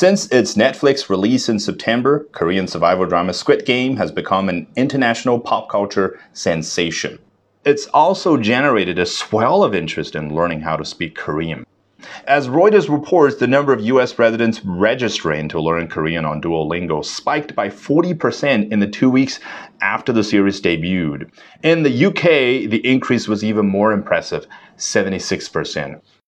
Since its Netflix release in September, Korean survival drama Squid Game has become an international pop culture sensation. It's also generated a swell of interest in learning how to speak Korean. As Reuters reports, the number of US residents registering to learn Korean on Duolingo spiked by 40% in the 2 weeks after the series debuted. In the UK, the increase was even more impressive, 76%.